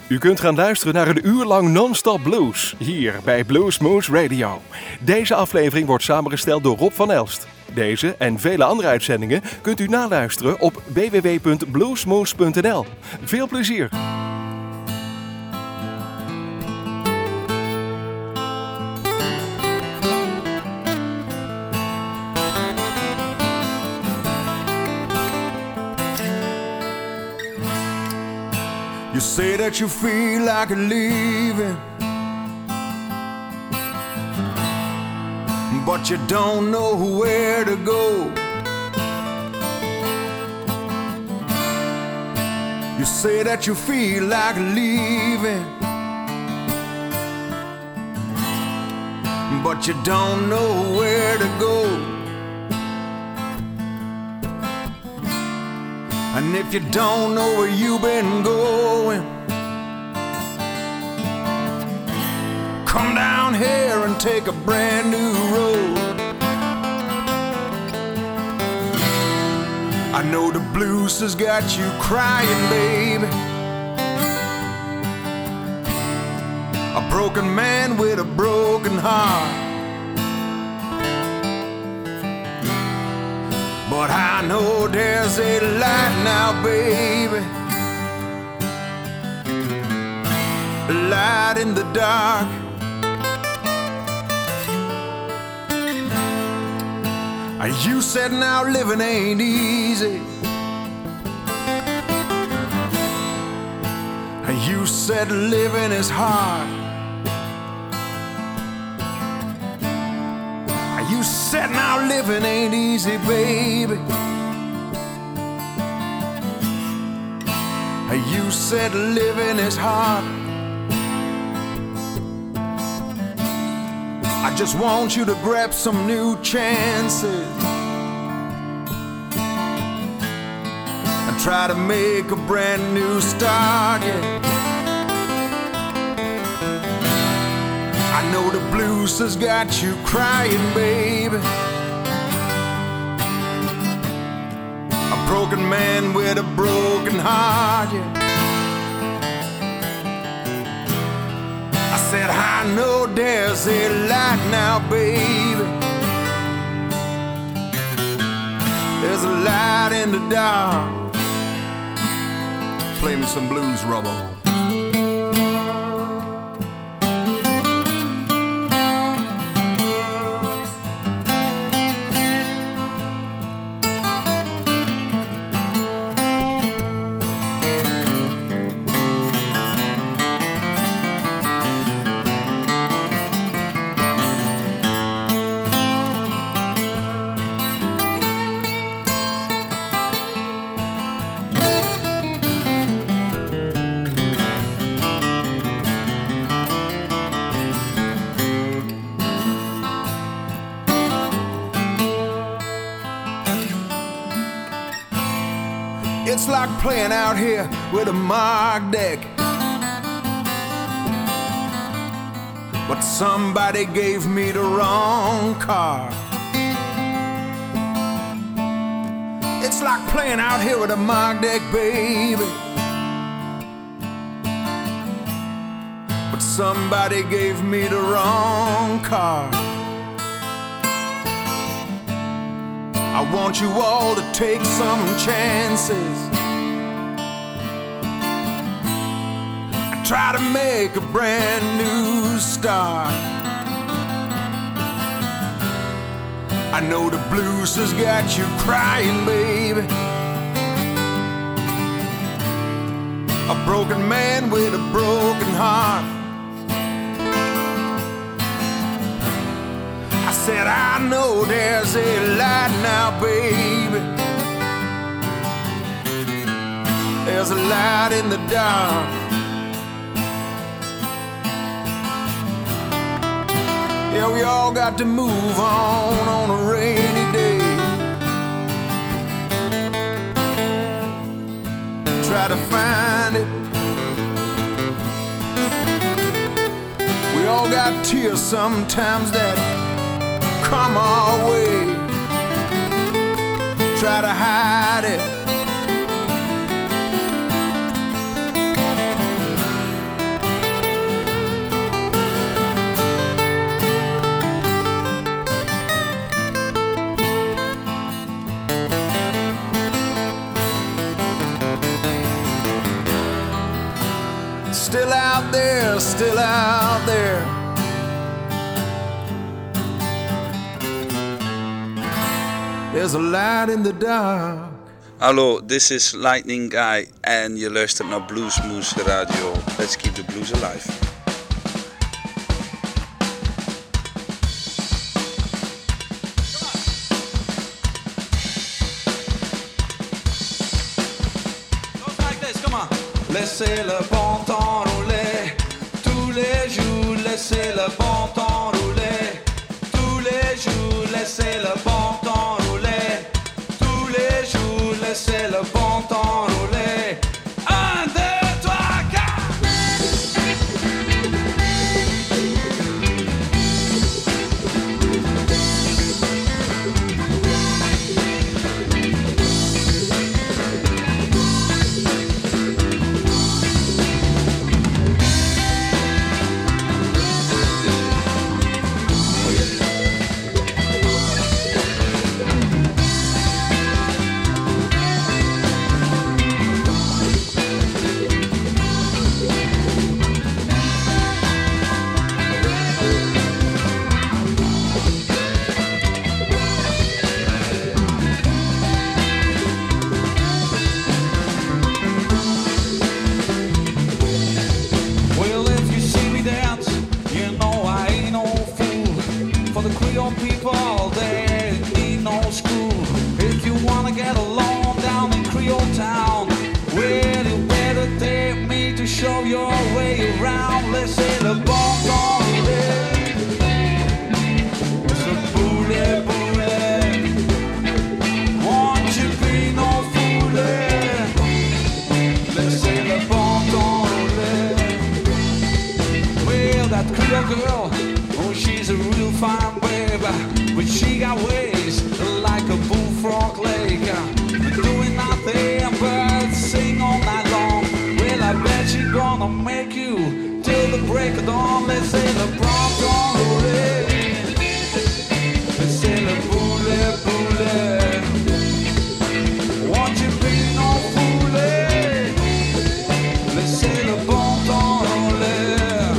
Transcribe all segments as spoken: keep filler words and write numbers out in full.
U kunt gaan luisteren naar een uur lang non-stop blues, hier bij Bluesmoose Radio. Deze aflevering wordt samengesteld door Rob van Elst. Deze en vele andere uitzendingen kunt u naluisteren op w w w punt bluesmoose punt n l. Veel plezier! You say that you feel like leaving, but you don't know where to go. You say that you feel like leaving, but you don't know where to go. And if you don't know where you've been going, come down here and take a brand new road. I know the blues has got you crying, baby. A broken man with a broken heart. But I know there's a light now, baby. A light in the dark. You said now living ain't easy. You said living is hard. You said now living ain't easy, baby. You said living is hard. I just want you to grab some new chances and try to make a brand new start, yeah. I know the blues has got you crying, baby. A broken man with a broken heart, yeah. I said, I know there's a light now, baby. There's a light in the dark. Play me some blues, Robbo. It's like playing out here with a marked deck, but somebody gave me the wrong card. It's like playing out here with a marked deck, baby, but somebody gave me the wrong card. I want you all to take some chances and try to make a brand new start. I know the blues has got you crying, baby. A broken man with a broken heart. I said, I know there's a light now, baby. There's a light in the dark. Yeah, we all got to move on on a rainy day. Try to find it. We all got tears sometimes that come our way. Try to hide it. still out there, still out there. There's a light in the dark. Hallo, this is Lightning Guy en je luistert naar Bluesmoose Radio. Let's keep the blues alive. Laissez le bon temps rouler, tous les jours laissez le bon temps rouler, tous les jours laissez le bon temps rouler, tous les jours laissez le bon temps rouler. Un, deux, trois, quatre. People, they need no school. If you wanna get along down in Creole Town, well, you better take me to show your way around. Let's say the bon temps roulé, it's a boulet boulet. Won't you be no foolie? Let's say the bon temps roulé. Well, that Creole girl, oh, she's a real fine baby. But she got ways like a bullfrog lake, doing nothing but sing all night long. Well, I bet she gonna make you till the break of dawn. Let's say the prompt on the way. Let's say the boulet boulet. Won't you be no foolie? Let's say the bon temps roulé.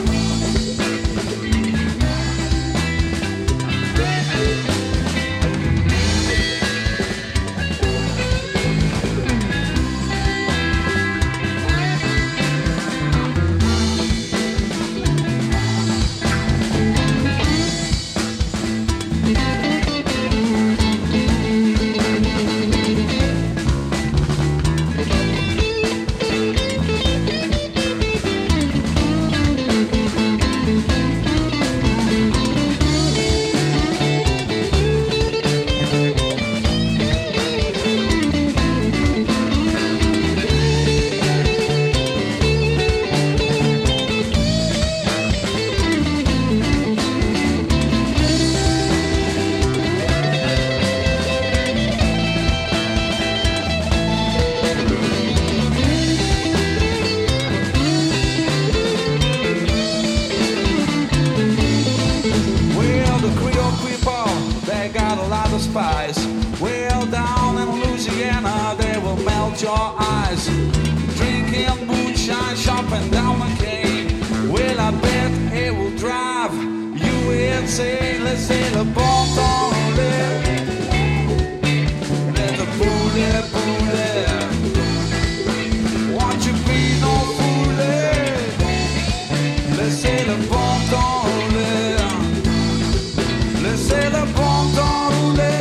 Spice. Well, down in Louisiana, they will melt your eyes. Drinking moonshine, shopping down the cane. Well, I bet it will drive you insane. Let's say the bon temps roulé. Let the boulet boulet. Won't you be no foolie? Let's say the bon temps roulé. Let's say the bon temps roulé.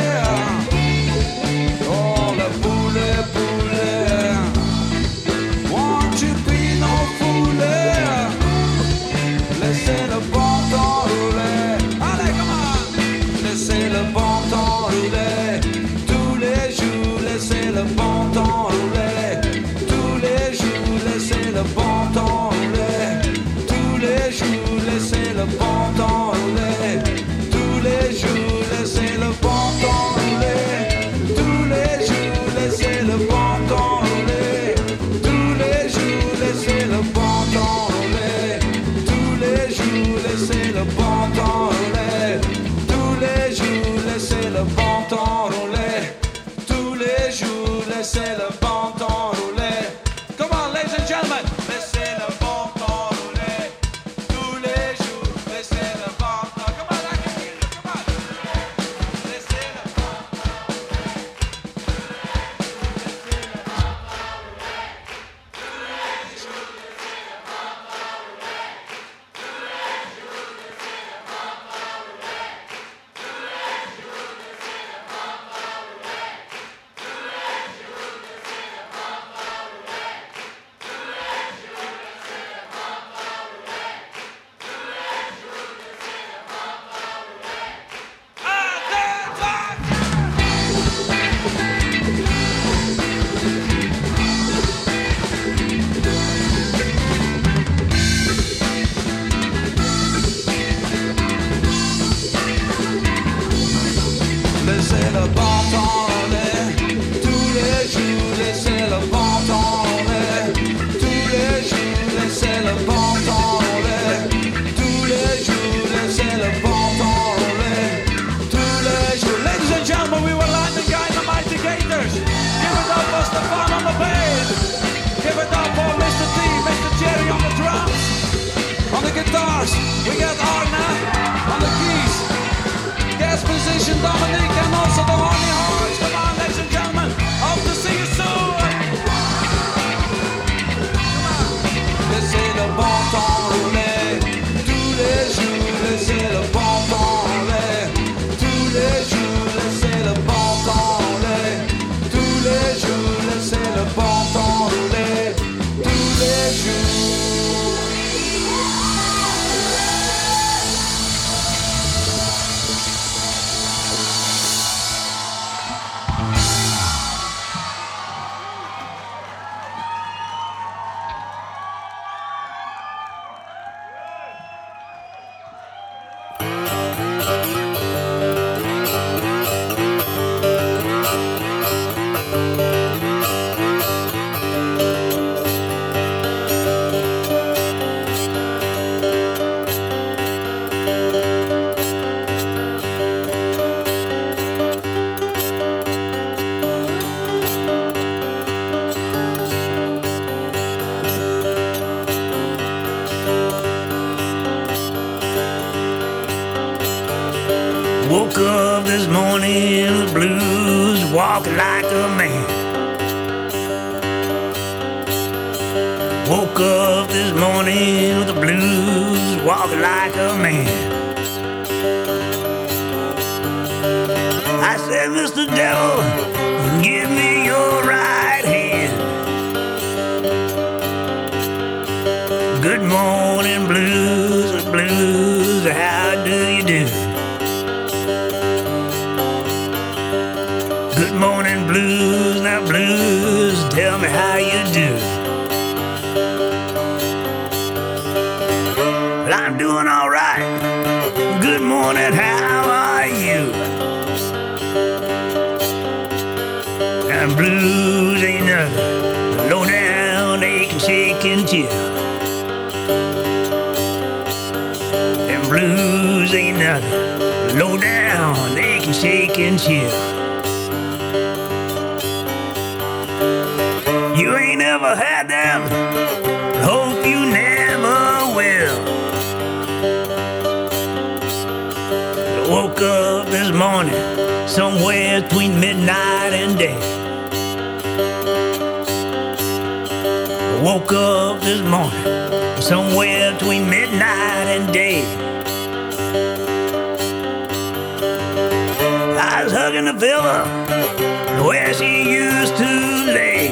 Oh, the boulet boulet. Won't you be no foolie? Let's say the bon temps roulé. Allez, come on. Let's say the guitars, we got Arna on the keys, guest musician Dominic, and also the horny horns. Come on, ladies and gentlemen, hope to see you soon. Laissez le bon temps rouler, tous les jours, laissez le bon temps rouler, tous les jours, laissez le bon temps rouler, tous les jours, laissez le bon temps rouler, tous les jours. Woke up this morning with the blues, walking like a man. Woke up this morning with the blues, walking like a man. I said, Mister Devil, give me your right hand. Good morning, blues, blues, how do you do? Good morning, blues, now blues, tell me how you do. Well, I'm doing all right. Good morning, how are you? And blues ain't nothing, low down, aching, shaking, chill. And blues ain't nothing, low down, aching, shaking, chill. You ain't ever had them, hope you never will. I woke up this morning, somewhere between midnight and day. I woke up this morning, somewhere between midnight and day. I was hugging the pillow where she used to lay.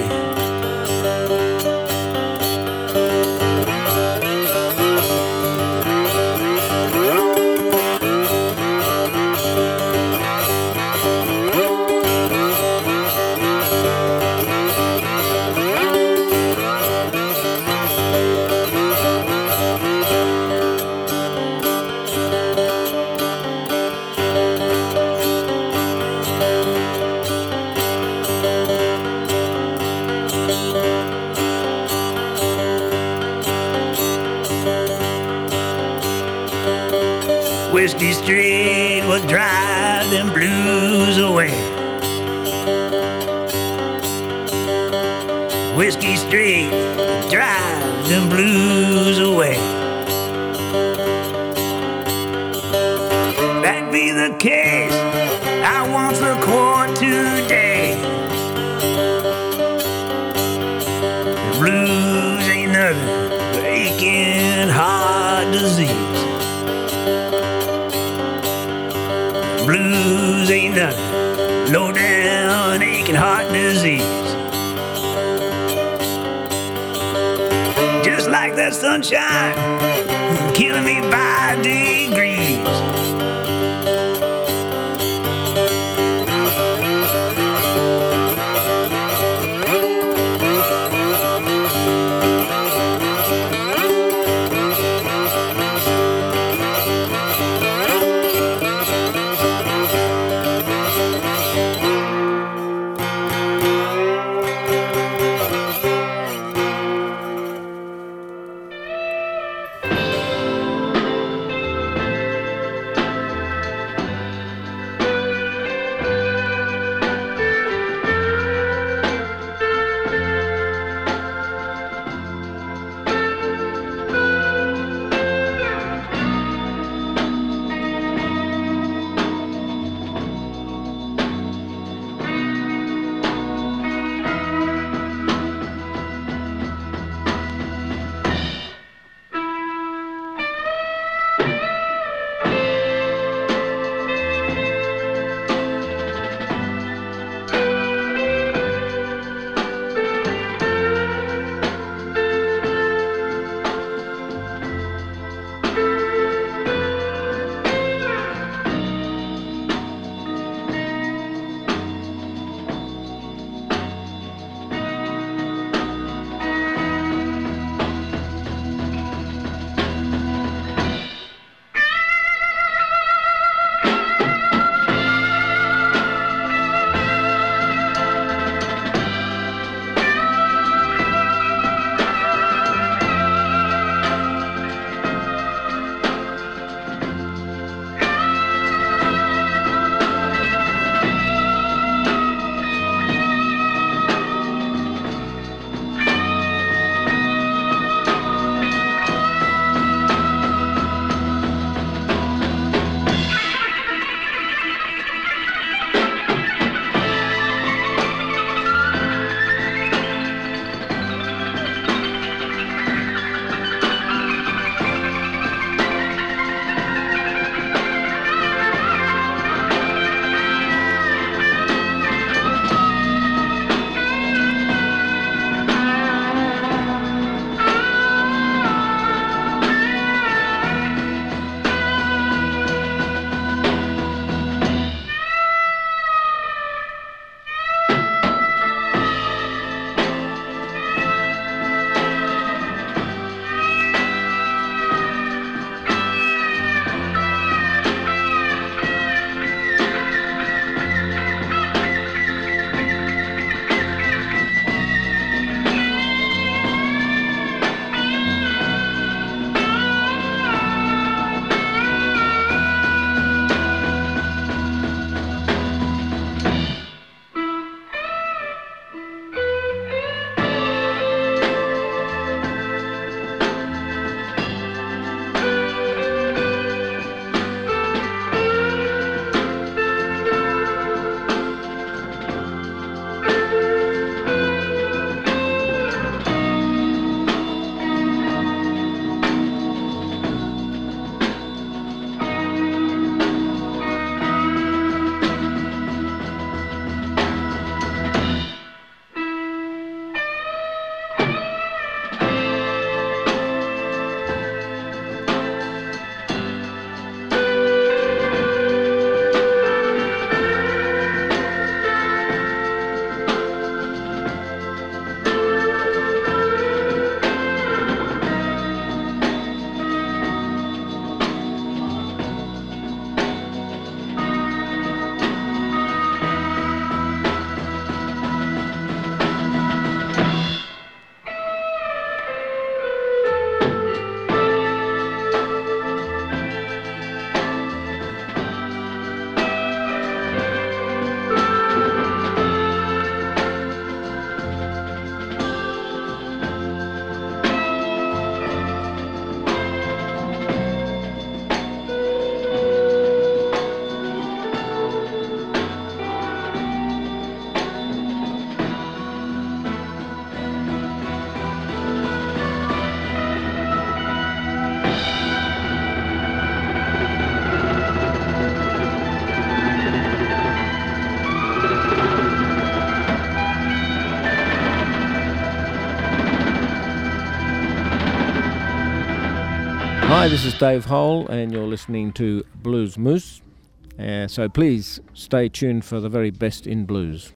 Whiskey Street will drive them blues away. Whiskey Street will drive them blues away. That be the case, I want the court today. The blues ain't nothing but aching heart disease. Blues ain't nothing, low down, aching heart disease. Just like that sunshine, killing me by degrees. Hi, this is Dave Hole, and you're listening to Blues Moose. Uh, so please stay tuned for the very best in blues.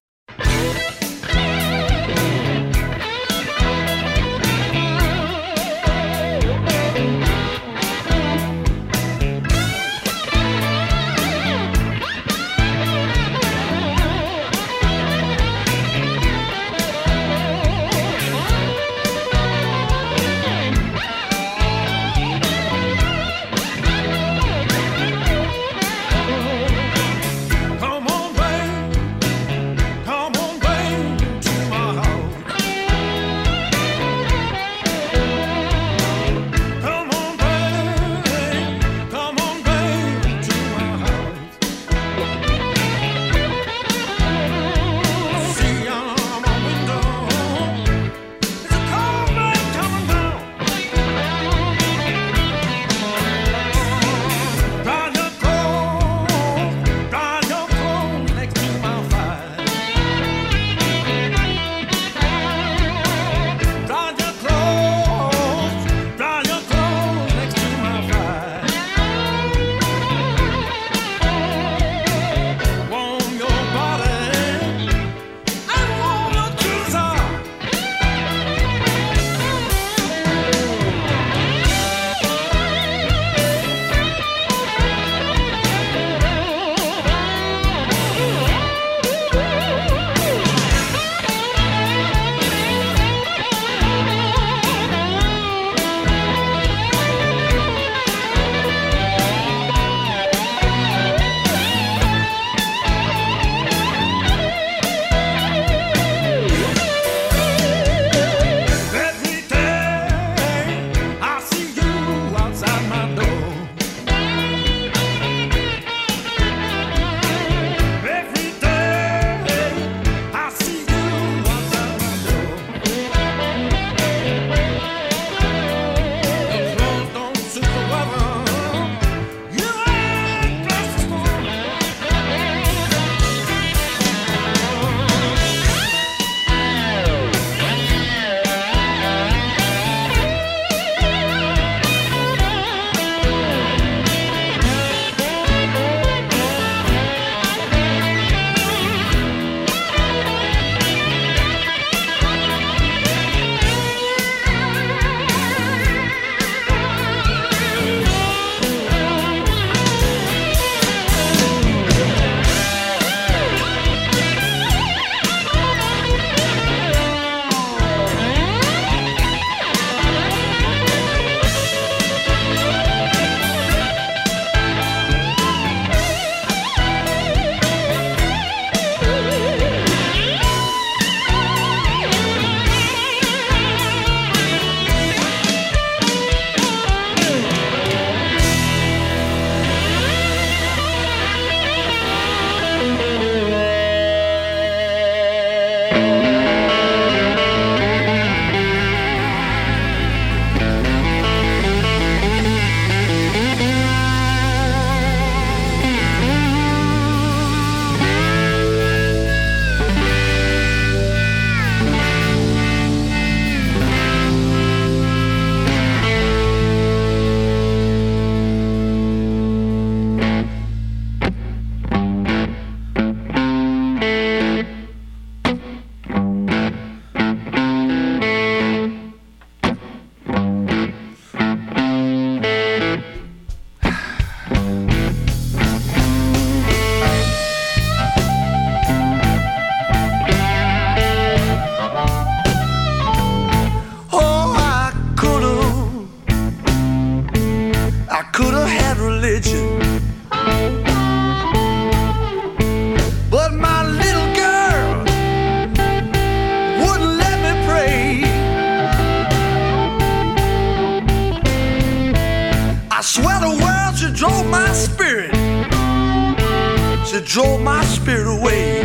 drove my spirit away.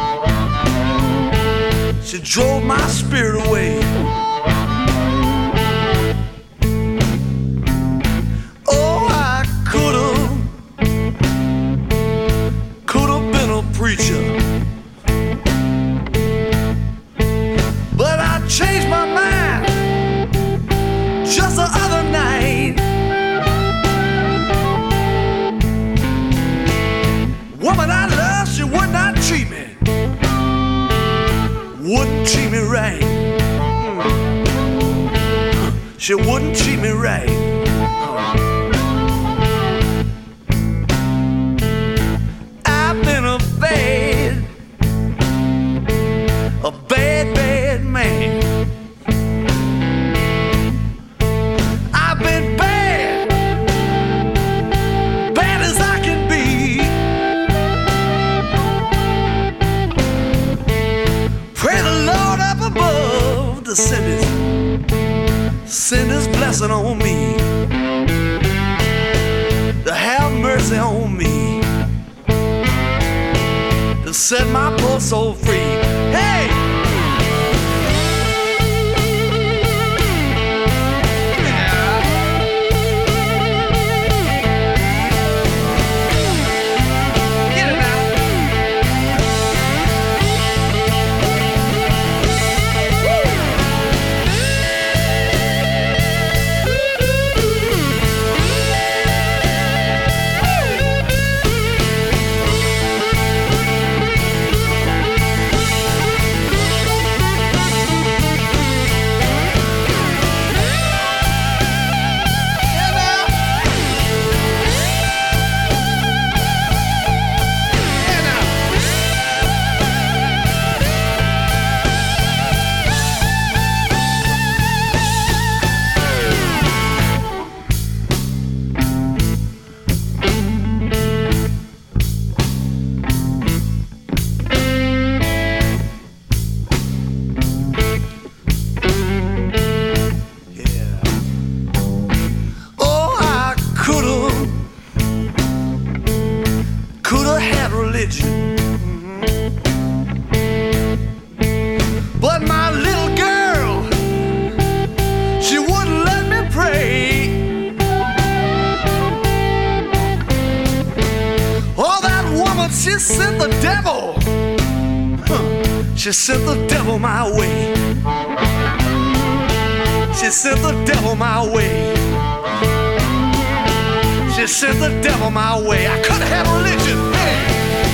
She drove my spirit away. Oh, I could've, could've been a preacher, but I changed my mind just the other night. she wouldn't treat me right. I've been a bad, a bad, bad man. I've been bad, bad as I can be. Pray the Lord up above to send his, send his blessing on me, to have mercy on me, to set my poor soul free. Hey! She sent the devil, huh. She sent the devil my way. She sent the devil my way. She sent the devil my way. I could have religion. Hey.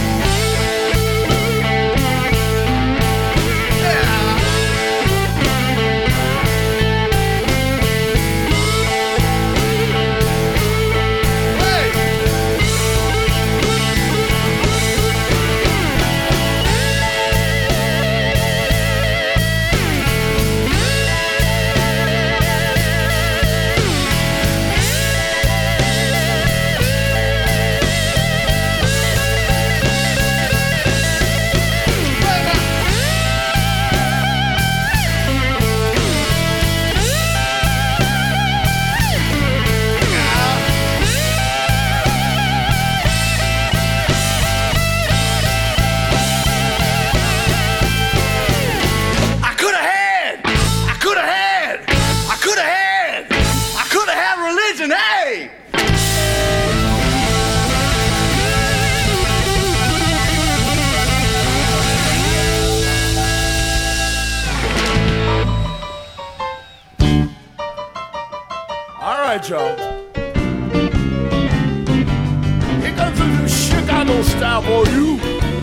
Y'all. Here comes a new Chicago style for you.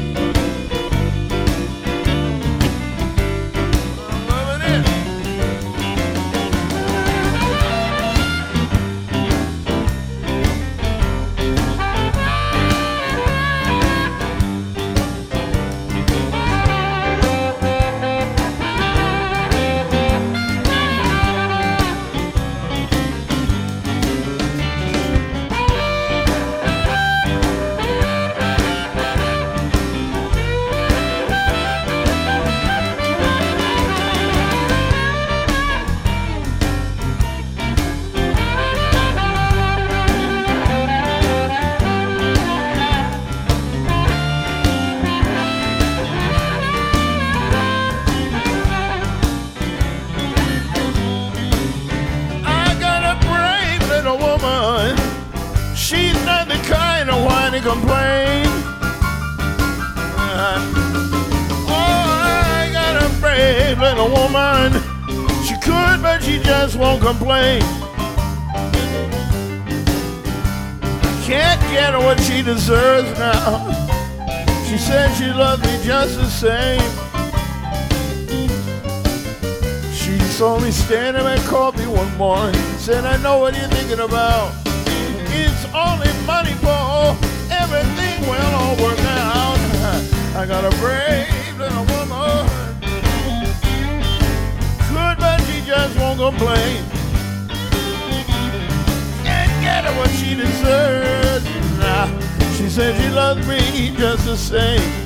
Complain. Uh, oh, I got a brave little woman. She could, but she just won't complain. Can't get her what she deserves now. She said she loves me just the same. She saw me standing at coffee one morning. Said, I know what you're thinking about. It's only money, Paul. Everything will all work out. I got a brave little woman. Good, but she just won't complain. Can't get her what she deserves. Nah, she said she loves me just the same.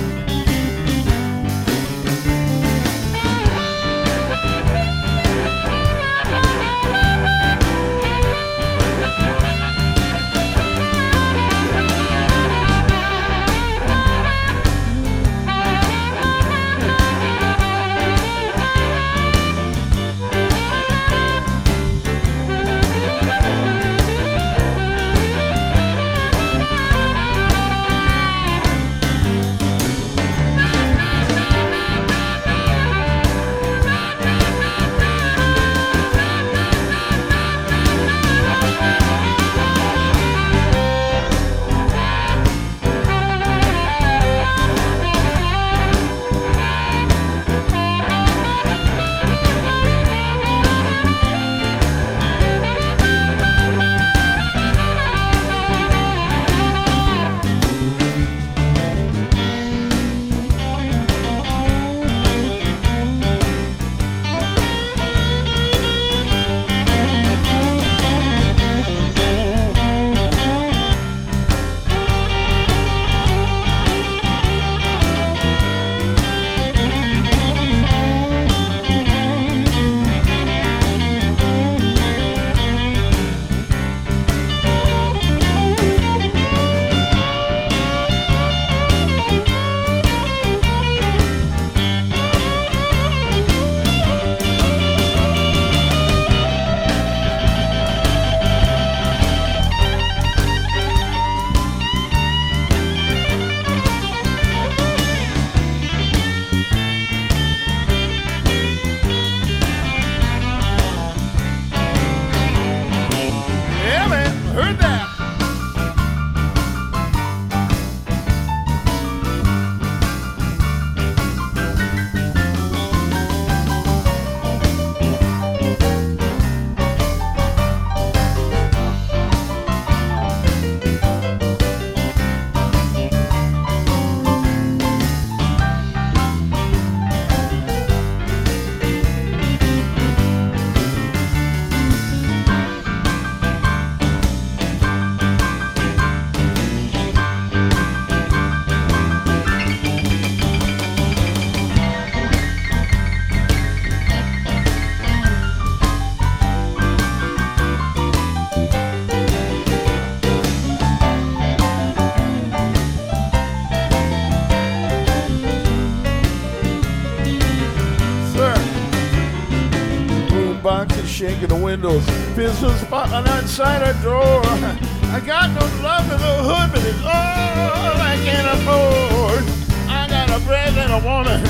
Shaking the windows, pistol spot on outside her door. I got no love in the hood, but it's all I can afford. I got a brave little woman.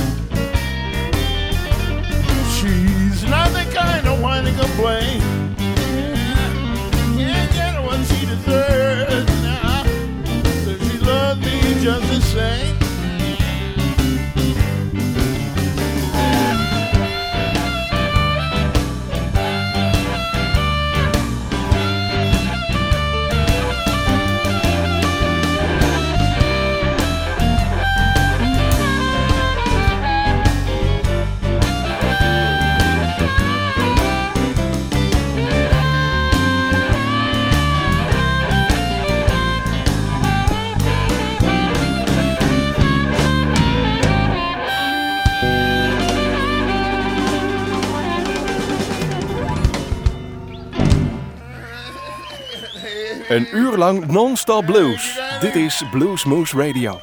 She's not the kind of whine to complain. Can't get her what she deserves now. So she loves me just the same. Een uur lang non-stop blues. Dit is Blues Moose Radio.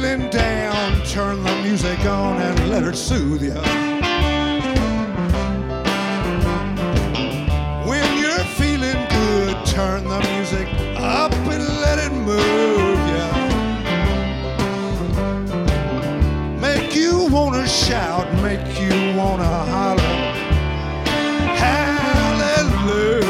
feeling down, turn the music on and let it soothe you. When you're feeling good, turn the music up and let it move you. Make you wanna shout, make you wanna holler. Hallelujah.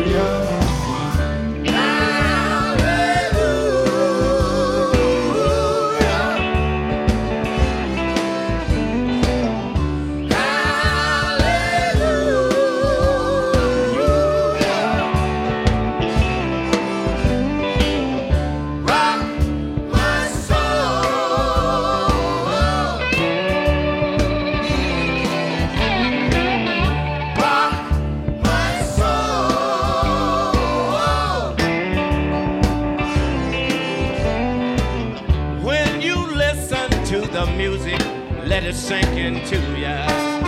Let it sink into ya.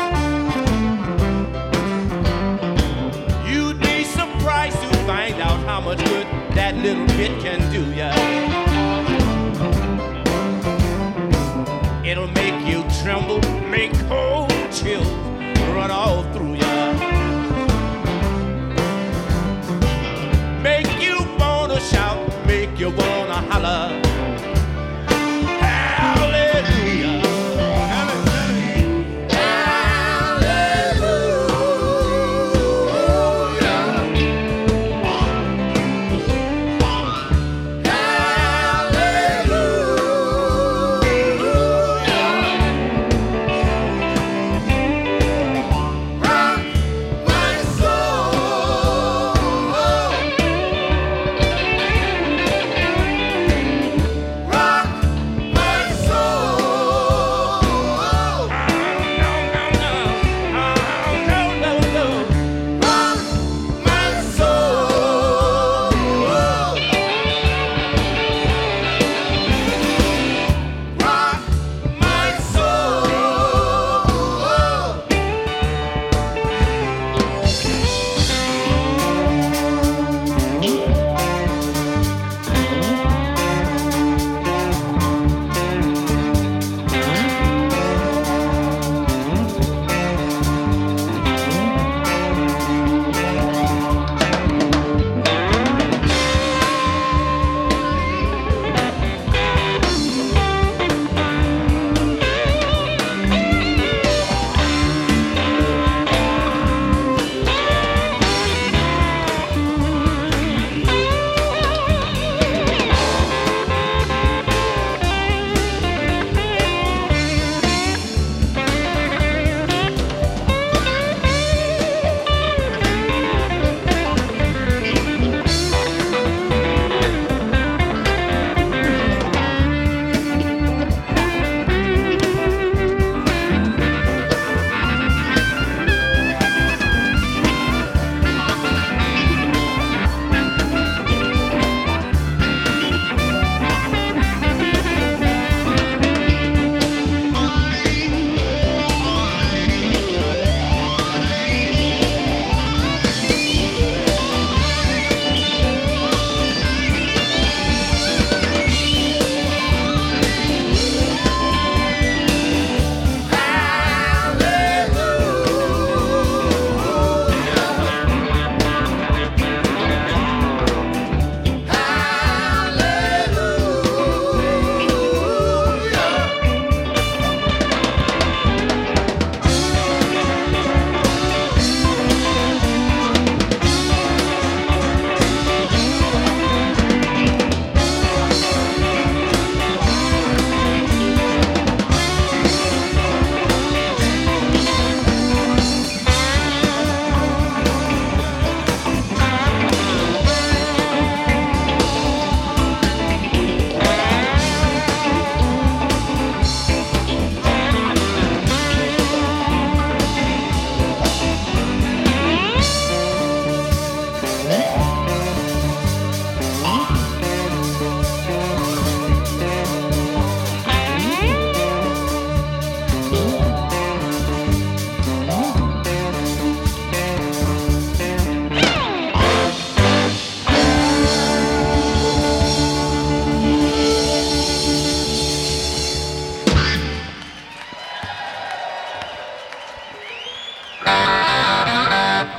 You'd be surprised to find out how much good that little bit can do ya. It'll make you tremble, make cold chills run all through ya. Make you wanna shout, make you wanna holler. Rock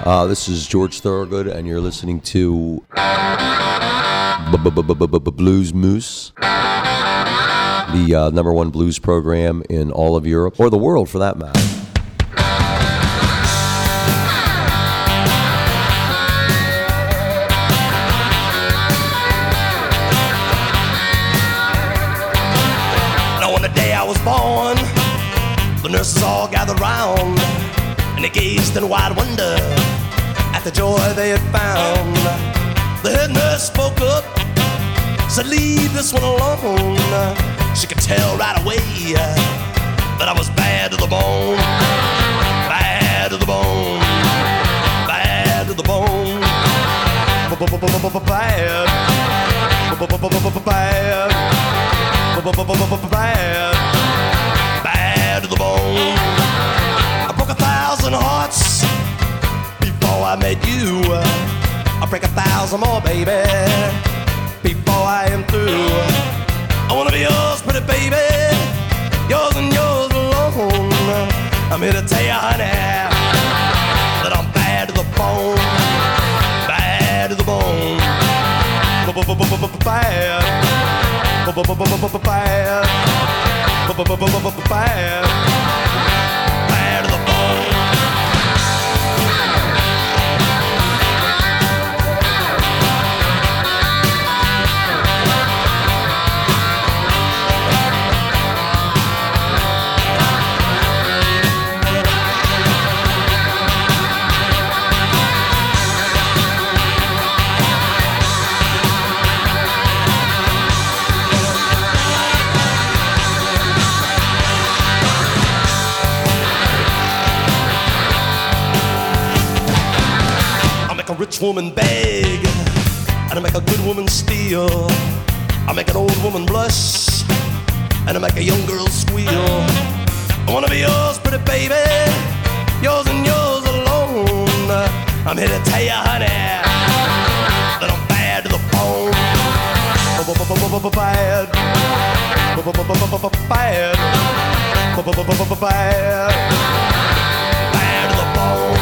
Uh, this is George Thorogood, and you're listening to Blues Moose, the uh, number one blues program in all of Europe, or the world for that matter. Now on the day I was born, the nurses all gathered round, and they gazed in wide wonder at the joy they had found. The head nurse spoke up, said, leave this one alone. She could tell right away that I was bad to the bone. Bad to the bone. Bad to the bone. Bad. Bad. Bad. Bad to the bone. I broke a thousand hearts before I met you. I'll break a thousand more, baby, before I am through. I wanna be yours, pretty baby, yours and yours alone. I'm here to tell you, honey, that I'm bad to the bone. Bad to the bone. Bad. Bad. Bad. Bad to the bone. A rich woman beg, and I make a good woman steal. I make an old woman blush, and I make a young girl squeal. I wanna be yours, pretty baby, yours and yours alone. I'm here to tell you, honey, that I'm bad to the bone. Bad. Bad. Bad. Bad to the bone.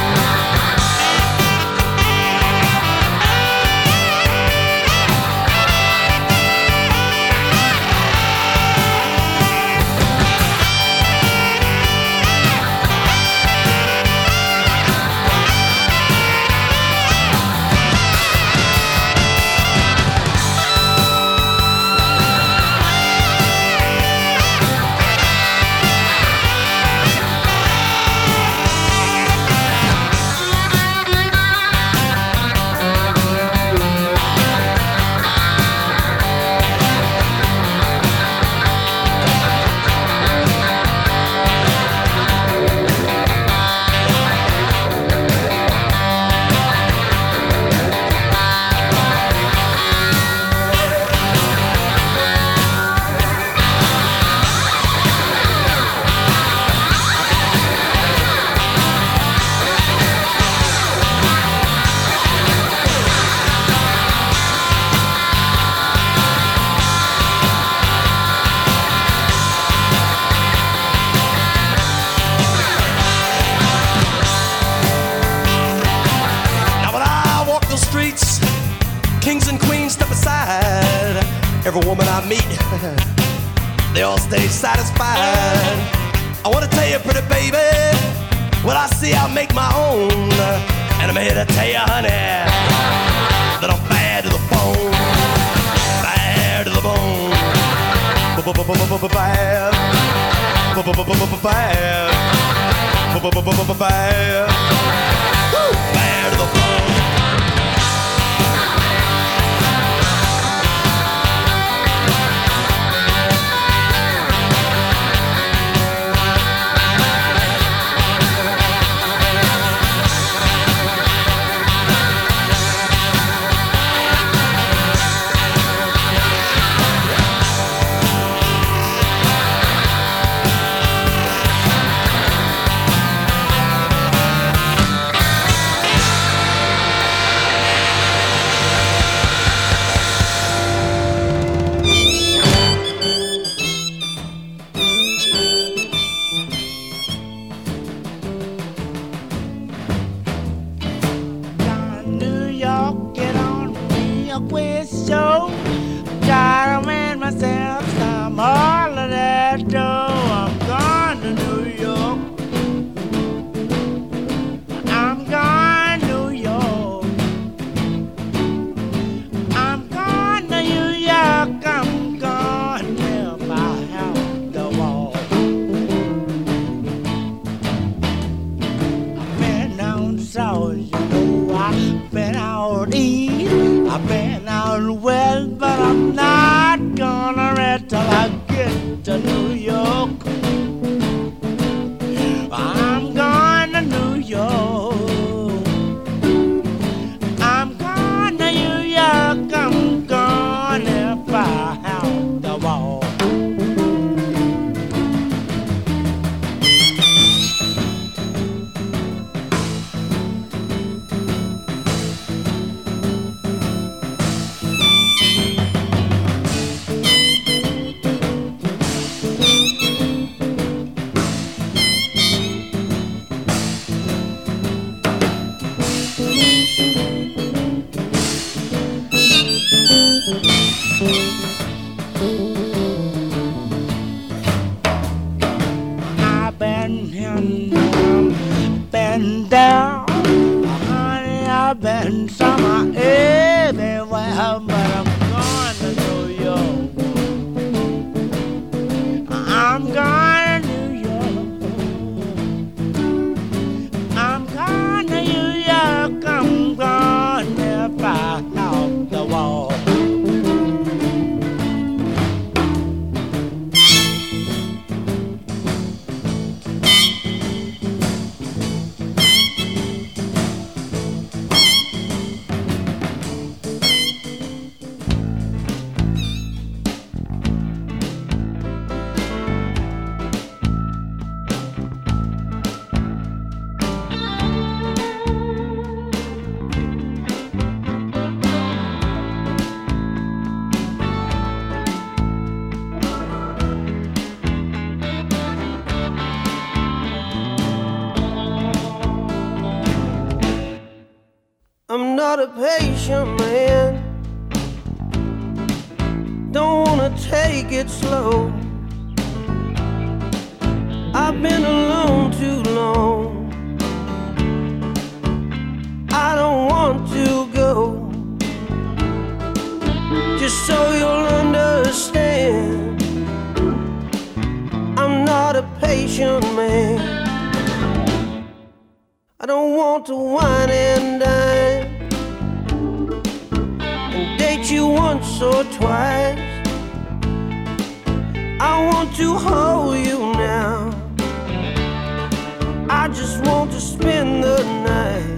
Every woman I meet, they all stay satisfied. I wanna tell you, pretty baby, what I see I make my own. And I'm here to tell you, honey, that I'm bad to the bone. Bad to the bone. Bad. Bad. Bad. Bad to the bone. Broadway show. Gotta win myself some all of that dough. I'm going to New York. I'm going to New York. I'm going to New York. I'm going to buy out the wall. I've been down south, you know. I've been out east. I've been out west, but I'm not gonna rest till I get to New York. I'm going to New York. I'm going to New York. I'm going to buy out the wall. I've been in, been down, honey, I've been summer everywhere, but I'm going to New York. I'm going to New York. I'm going to New York. I'm going to buy out the wall. I'm not a patient man. Don't wanna take it slow. I've been alone too long. I don't want to go. Just so you'll understand, I'm not a patient man. I don't want to wine and dine and date you once or twice. I want to hold you now. I just want to spend the night.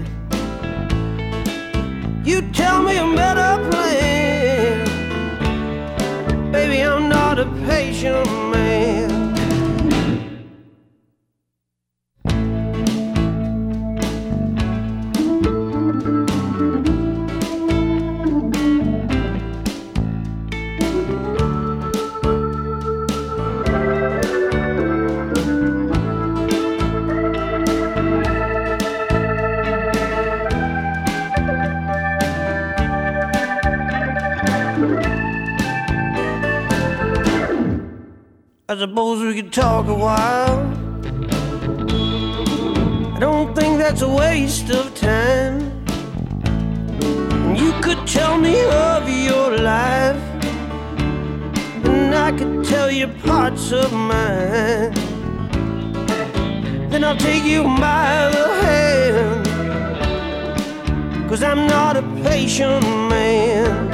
You tell me a better plan. Baby, I'm not a patient man. I suppose we could talk a while. I don't think that's a waste of time. You could tell me of your life, and I could tell you parts of mine. Then I'll take you by the hand, 'cause I'm not a patient man.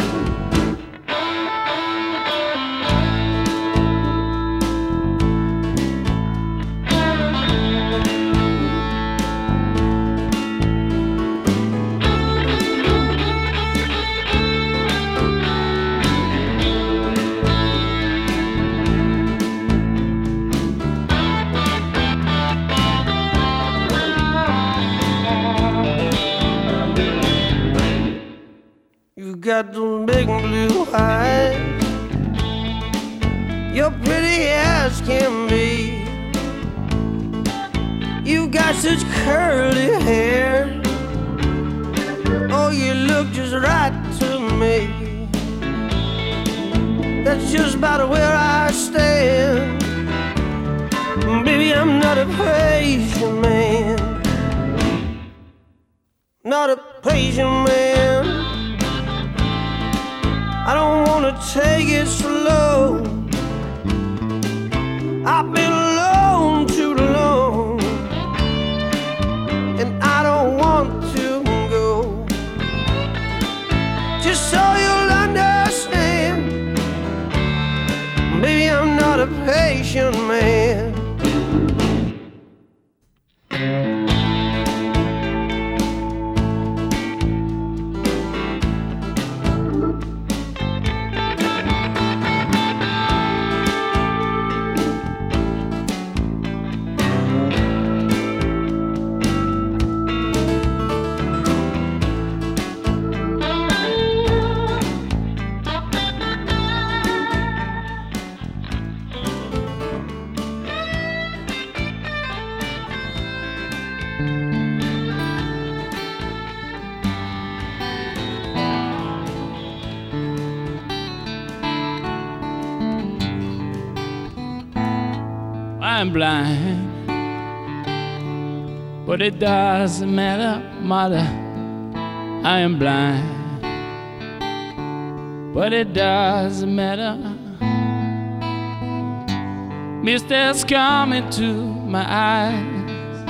Got those big blue eyes, you're pretty as can be. You got such curly hair, oh, you look just right to me. that's just about where I stand. Baby, I'm not a patient man. Not a patient man. I don't wanna take it slow. I've been alone too long, and I don't want to go. Just so you'll understand, baby, I'm not a patient man. I'm blind, but it doesn't matter, mother. I am blind, but it doesn't matter. Mister's coming to my eyes,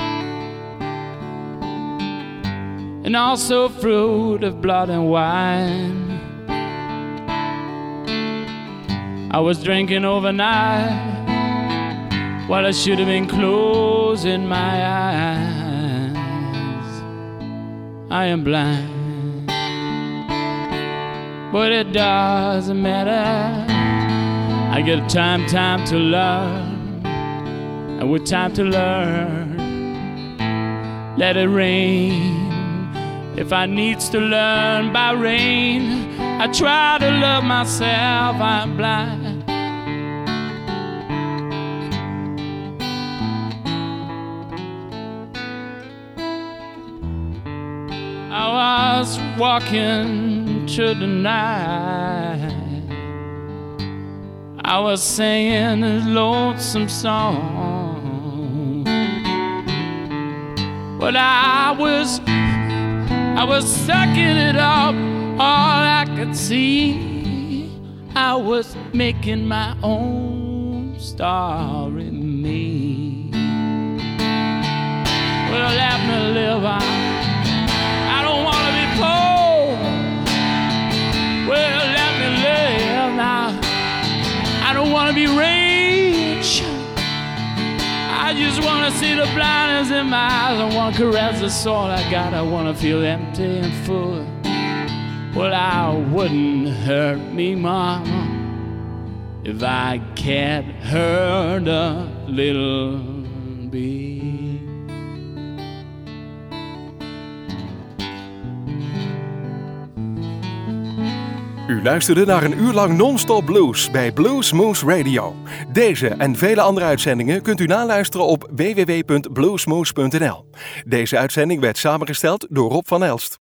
and also fruit of blood and wine. I was drinking overnight while I should have been closing my eyes. I am blind, but it doesn't matter. I get time, time to learn, and with time to learn, let it rain. If I needs to learn by rain, I try to love myself. I'm blind. I was walking through the night, I was singing a lonesome song, but I was, I was sucking it up. All I could see, I was making my own story me. Well, let me live on. Well, let me live now. I don't want to be rich. I just want to see the blindness in my eyes. I want to caress the soul I got. I want to feel empty and full. Well, I wouldn't hurt me, mama, if I can't hurt a little bit. U luisterde naar een uur lang non-stop blues bij Blues Moose Radio. Deze en vele andere uitzendingen kunt u naluisteren op w w w punt bluesmoose punt n l. Deze uitzending werd samengesteld door Rob van Elst.